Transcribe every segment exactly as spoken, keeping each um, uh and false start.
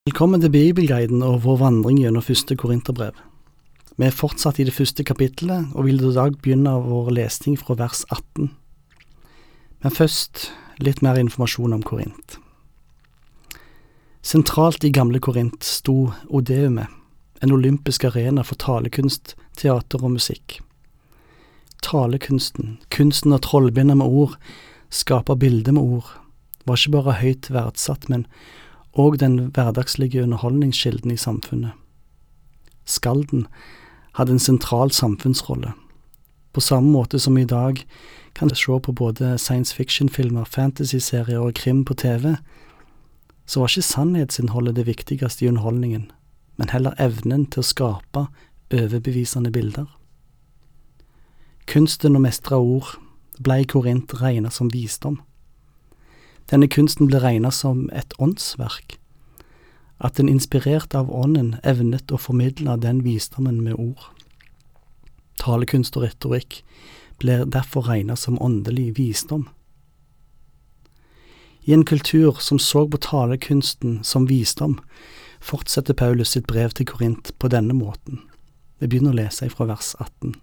Velkommen til Bibelguiden og vår vandring gjennom første Korinterbrev. Vi er fortsatt i det første kapittelet, og vil i dag begynne vår lesning fra vers atten. Men først litt mer informasjon om Korint. Sentralt i gamle Korint sto Odeumet, en olympisk arena for talekunst, teater og musikk. Talekunsten, kunsten å trollbinde med ord, skape bilder med ord, var ikke bare høyt verdsatt, men og den hverdagslige underholdningskilden i samfunnet. Skalden hadde en sentral samfunnsrolle. På samme måte som i dag kan du se på både science fiction-filmer, fantasy-serier og krim på T V, så var ikke sannhetsinnholdet det viktigste i underholdningen, men heller evnen til å skape overbevisende bilder. Kunsten å mestre ord ble i Korint regnet som visdom. Denne kunsten ble regnet som et åndsverk, at den inspirert av ånden evnet å formidle den visdommen med ord. Talekunst og retorikk ble derfor regnet som åndelig visdom. I en kultur som så på talekunsten som visdom, fortsetter Paulus sitt brev til Korint på denne måten. Vi begynner å lese fra vers atten.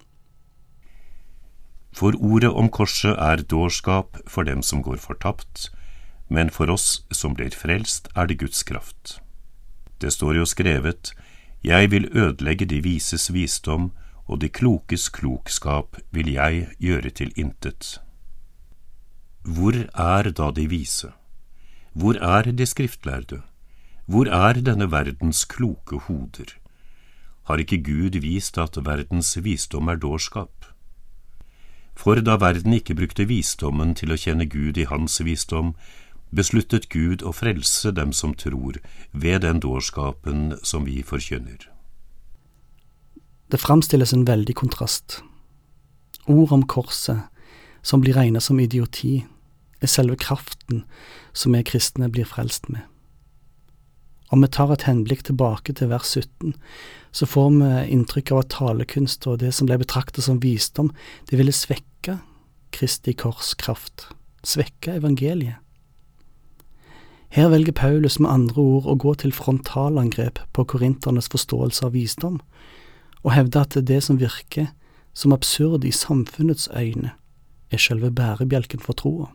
For ordet om korset er dårskap for dem som går fortapt, men for oss som blir frelst er det Guds kraft. Det står jo skrevet, jeg vil ødelegge de vises visdom, og de klokes klokskap vil jeg gjøre til intet. Hvor er da de vise? Hvor er de skriftlærde? Hvor er denne verdens kloke hoder? Har ikke Gud vist at verdens visdom er dårskap? For da verden ikke brukte visdommen til å kjenne Gud i hans visdom, besluttet Gud å frelse dem som tror, ved den dårskapen som vi forkynner. Det framstilles en veldig kontrast. Ord om korset, som blir regnet som idioti, er selve kraften som vi kristne blir frelst med. Om vi tar et henblikk tilbake til vers sytten, så får vi inntrykk av at talekunst og det som ble betraktet som visdom, det ville svekke Kristi kors kraft, svekke evangeliet. Her velger Paulus med andre ord å gå til frontalangrep på korinternes forståelse av visdom, og hevde at det som virker som absurd i samfunnets øyne, er selve bærebjelken for troa.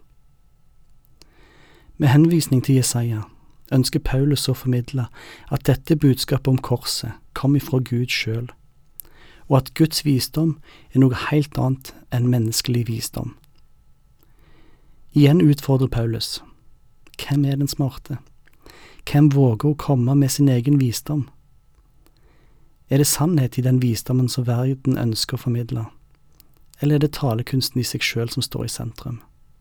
Med henvisning til Jesaja ønsker Paulus å formidle at dette budskapet om korset kom ifra Gud selv, og at Guds visdom er noe helt annet enn menneskelig visdom. Igjen utfordrer Paulus. Hvem er den smarte? Hvem våger å komme med sin egen visdom? Er det sannhet i den visdommen som verden ønsker å formidle? Eller er det talekunsten i seg selv som står i sentrum?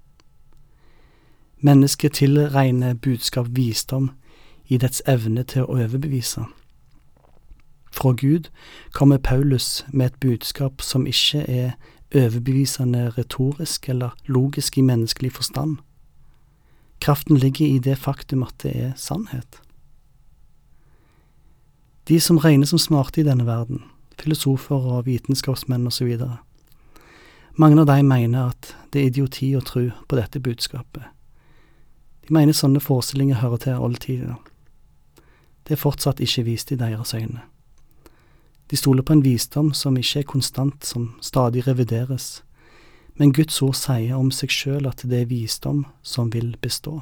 Mennesket tilregner budskap visdom i dets evne til å overbevise. Fra Gud kommer Paulus med et budskap som ikke er overbevisende retorisk eller logisk i menneskelig forstand. Kraften ligger i det faktum at det er sannhet. De som regnes som smarte i denne verden, filosofer og vitenskapsmenn og så videre, mange av dem mener at det er idioti å tro på dette budskapet. De mener sånne forestillinger hører til oldtiden. Det er fortsatt ikke vist i deres øyne. De stoler på en visdom som ikke er konstant, som stadig revideres, men Guds ord sier om seg selv at det er visdom som vil bestå.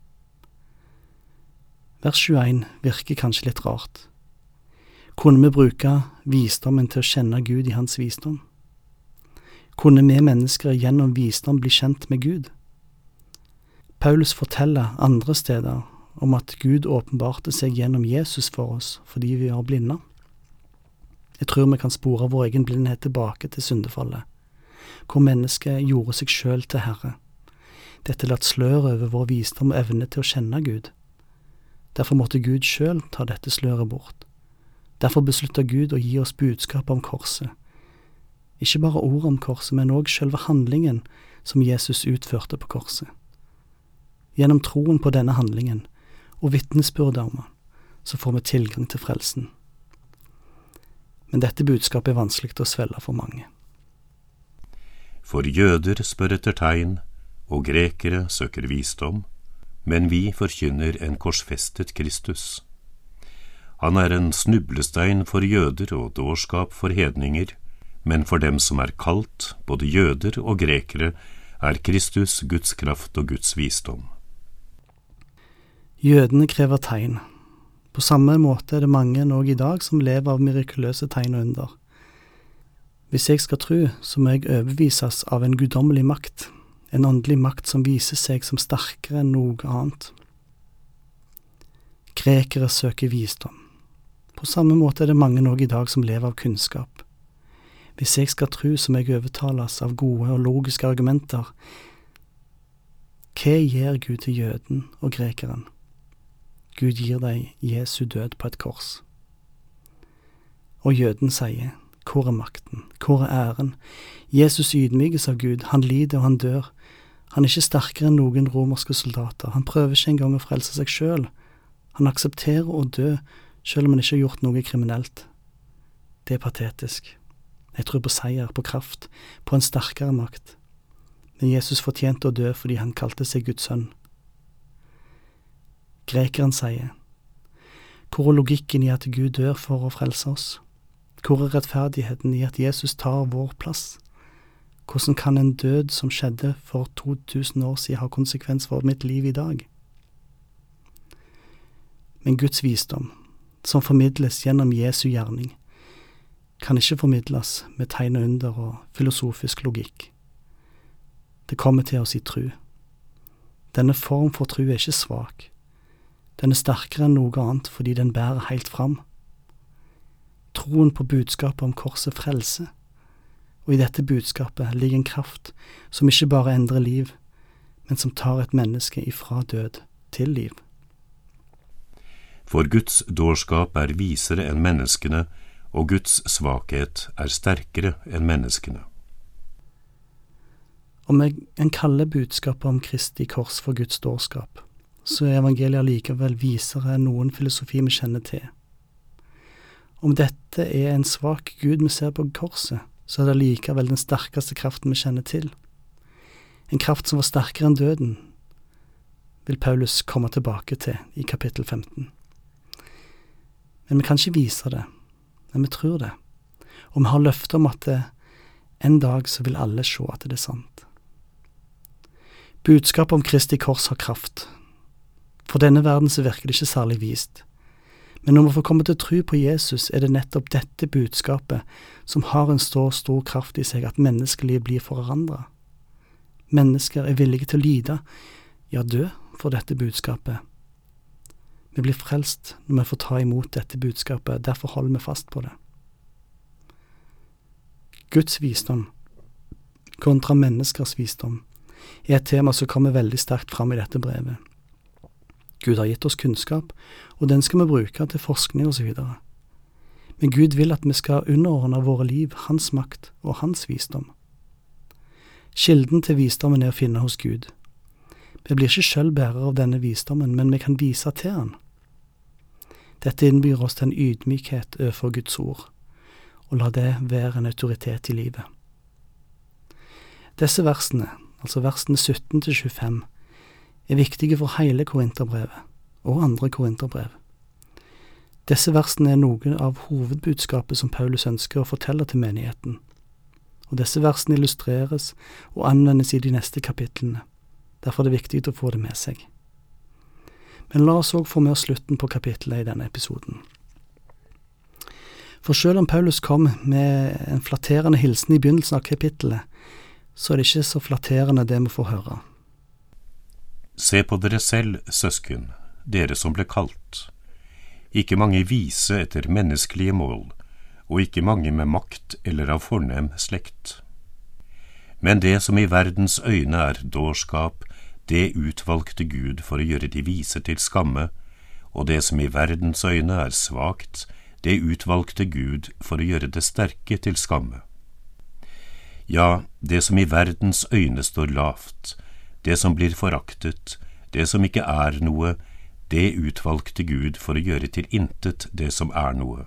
Vers tjueen virker kanskje litt rart. Kunne vi bruke visdommen til å kjenne Gud i hans visdom? Kunne vi mennesker gjennom visdom bli kjent med Gud? Paulus forteller andre steder om at Gud åpenbarte seg gjennom Jesus for oss fordi vi var blinde. Jeg tror vi kan spore vår egen blindhet tilbake til syndefallet, hvor mennesket gjorde seg selv til Herre. Dette latt sløret over vår visdom og evne til å kjenne Gud. Derfor måtte Gud selv ta dette sløret bort. Derfor besluttet Gud å gi oss budskap om korset. Ikke bare ord om korset, men også selve handlingen som Jesus utførte på korset. Gjennom troen på denne handlingen og vitnesbyrdet om den, så får vi tilgang til frelsen. Men dette budskapet er vanskelig å svelge for mange. For jøder spør etter tegn, og grekere søker visdom, men vi forkynner en korsfestet Kristus. Han er en snublestein for jøder og dårskap for hedninger, men for dem som er kalt, både jøder og grekere, er Kristus Guds kraft og Guds visdom. Jødene krever tegn. På samme måte er det mange nå i dag som lever av mirakuløse tegn og under. Hvis jeg skal tro, så må jeg overbevises av en guddommelig makt, en åndelig makt som viser seg som sterkere enn noe annet. Grekere søker visdom. På samme måte er det mange nå i dag som lever av kunnskap. Hvis jeg skal tro, så må jeg overtales av gode og logiske argumenter. Hva gir Gud til jøden og grekeren? Gud gir deg Jesu død på et kors. Og jøden sier, hvor er makten, hvor er æren? Jesus ydmykes av Gud, han lider og han dør. Han er ikke sterkere enn noen romerske soldater, han prøver ikke engang å frelse seg selv. Han aksepterer å dø, selv om han ikke har gjort noe kriminelt. Det er patetisk. Jeg tror på seier, på kraft, på en sterkere makt. Men Jesus fortjente å dø fordi han kalte seg Guds sønn. Grekeren sier, hvor er logikken i at Gud dør for å frelse oss? Hvor er rettferdigheten i at Jesus tar vår plass? Hvordan kan en død som skjedde for to tusen år siden ha konsekvens for mitt liv i dag? Men Guds visdom, som formidles gjennom Jesu gjerning, kan ikke formidles med tegn og under og filosofisk logikk. Det kommer til oss i tro. Denne form for tro er ikke svak. Den er sterkere enn noe annet fordi den bærer helt fram. Troen på budskapet om korset frelse, og i dette budskapet ligger en kraft som ikke bare endrer liv, men som tar et menneske ifra død til liv. For Guds dårskap er visere enn menneskene, og Guds svakhet er sterkere enn menneskene. Om en kaller budskapet om Kristi kors for Guds dårskap, så er evangeliet likevel visere enn noen filosofi vi kjenner til. Om dette er en svak Gud vi ser på korset, så er det likevel den sterkeste kraften vi kjenner til. En kraft som var sterkere enn døden, vil Paulus komme tilbake til i kapittel femten. Men vi kan ikke vise det, men vi tror det. Og vi har løftet om at det, en dag så vil alle se at det er sant. Budskapet om Kristi kors har kraft. For denne verden så virker det ikke særlig vist. Men når vi får komme til å tro på Jesus, er det nettopp dette budskapet som har en så stor kraft i seg at menneskeliv blir forandret. Mennesker er villige til å lide, ja dø for dette budskapet. Vi blir frelst når vi får ta imot dette budskapet, derfor holder vi fast på det. Guds visdom kontra menneskers visdom er et tema som kommer veldig sterkt fram i dette brevet. Gud har gitt oss kunnskap, og den skal vi bruke til forskning og så videre. Men Gud vil at vi skal underordne våre liv, hans makt og hans visdom. Kilden til visdommen er å finne hos Gud. Vi blir ikke selv bærere av denne visdommen, men vi kan vise til han. Dette innbyr oss til en ydmykhet overfor Guds ord, og la det være en autoritet i livet. Disse versene, altså versene sytten til tjuefem, er viktige for hele Korinterbrevet og andre Korinterbrev. Disse versene er noe av hovedbudskapet som Paulus ønsker å fortelle til menigheten, og disse versene illustreres og anvendes i de neste kapitlene. Derfor er det viktig å få det med seg. Men la oss også få med oss slutten på kapittelet i denne episoden. For selv om Paulus kom med en flatterende hilsen i begynnelsen av kapittelet, så er det ikke så flatterende det vi får høre. Se på dere selv, søsken, dere som ble kalt. Ikke mange vise etter menneskelige mål, og ikke mange med makt eller av fornem slekt. Men det som i verdens øyne er dårskap, det utvalgte Gud for å gjøre de vise til skamme, og det som i verdens øyne er svakt, det utvalgte Gud for å gjøre det sterke til skamme. Ja, det som i verdens øyne står lavt, det som blir foraktet, det som ikke er noe, det utvalgte Gud for å gjøre til intet det som er noe.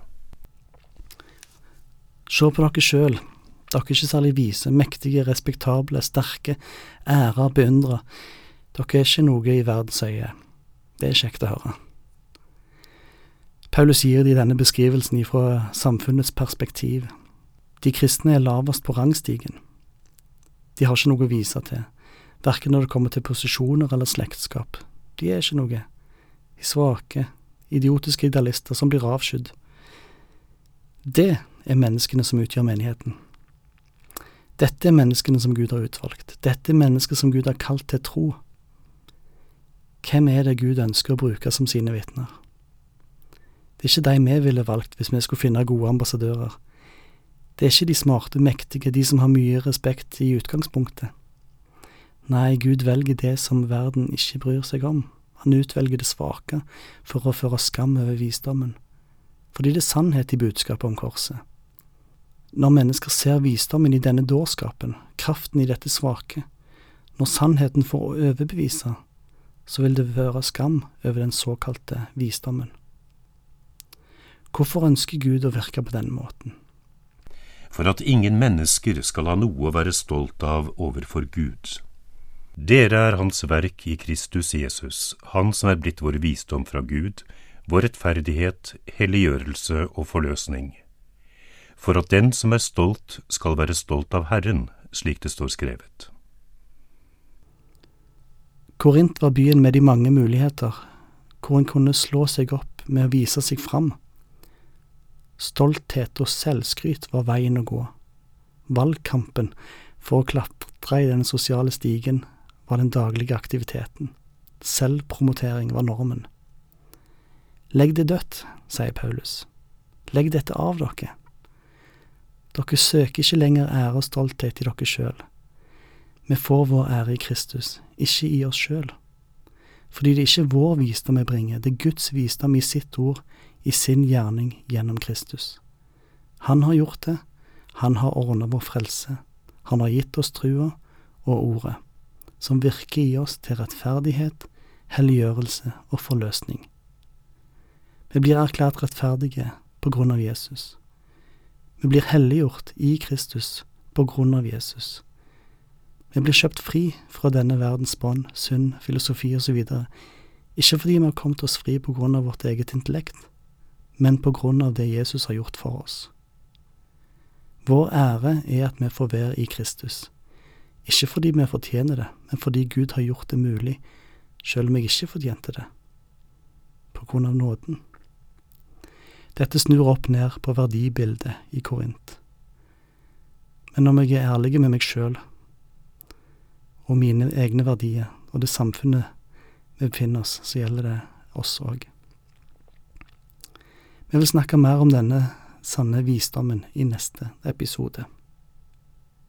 Se på dere selv. Dere er ikke særlig vise, mektige, respektable, sterke, ære, beundre. Dere er ikke noe i verdens øye. Det er kjekt å høre. Paulus gir de denne beskrivelsen fra samfunnets perspektiv. De kristne er lavest på rangstigen. De har ikke noe å vise til, hverken når det kommer til posisjoner eller slektskap. De er ikke noe. De svake, idiotiske idealister som blir avskydd. Det er menneskene som utgjør menigheten. Dette er menneskene som Gud har utvalgt. Dette er mennesker som Gud har kalt til tro. Hvem er det Gud ønsker å bruke som sine vitner? Det er ikke de vi ville valgt hvis vi skulle finne gode ambassadører. Det er ikke de smarte, mektige, de som har mye respekt i utgangspunktet. Nei, Gud velger det som verden ikke bryr seg om. Han utvelger det svake for å føre skam over visdommen. Fordi det er sannhet i budskapet om korset. Når mennesker ser visdommen i denne dårskapen, kraften i dette svake, når sannheten får å overbevise, så vil det være skam over den såkalte visdommen. Hvorfor ønsker Gud å virke på denne måten? For at ingen mennesker skal ha noe å være stolt av overfor Gud. Dere er hans verk i Kristus Jesus, han som er blitt vår visdom fra Gud, vår rettferdighet, helliggjørelse og forløsning. For at den som er stolt skal være stolt av Herren, slik det står skrevet. Korint var byen med de mange muligheter, hvor en kunne slå seg opp med å vise seg fram. Stolthet og selvskryt var veien å gå. Valgkampen for å klatre i den sosiale stigen var den daglige aktiviteten. Selvpromotering var normen. Legg det dødt, sier Paulus. Legg dette av dere. Dere søker ikke lenger ære og stolthet i dere selv. Vi får vår ære i Kristus, ikke i oss selv. Fordi det ikke er vår visdom vi bringer, det er Guds visdom i sitt ord, i sin gjerning gjennom Kristus. Han har gjort det, han har ordnet vår frelse, han har gitt oss trua og ordet, som virker i oss til rettferdighet, helliggjørelse og forløsning. Vi blir erklært rettferdige på grunn av Jesus. Vi blir helliggjort i Kristus på grunn av Jesus. Vi blir kjøpt fri fra denne verdens bånd, synd, filosofi og så videre, ikke fordi vi har kommet oss fri på grunn av vårt eget intellekt, men på grunn av det Jesus har gjort for oss. Vår ære er at vi får være i Kristus, ikke fordi vi fortjener det, men fordi Gud har gjort det mulig, selv om jeg ikke fortjente det, på grunn av nåden. Dette snur opp ned på verdibildet i Korint. Men om jeg er ærlig med meg selv, og mine egne verdier, og det samfunnet vi befinner oss, så gjelder det oss også. Vi vil snakke mer om denne sanne visdommen i neste episode.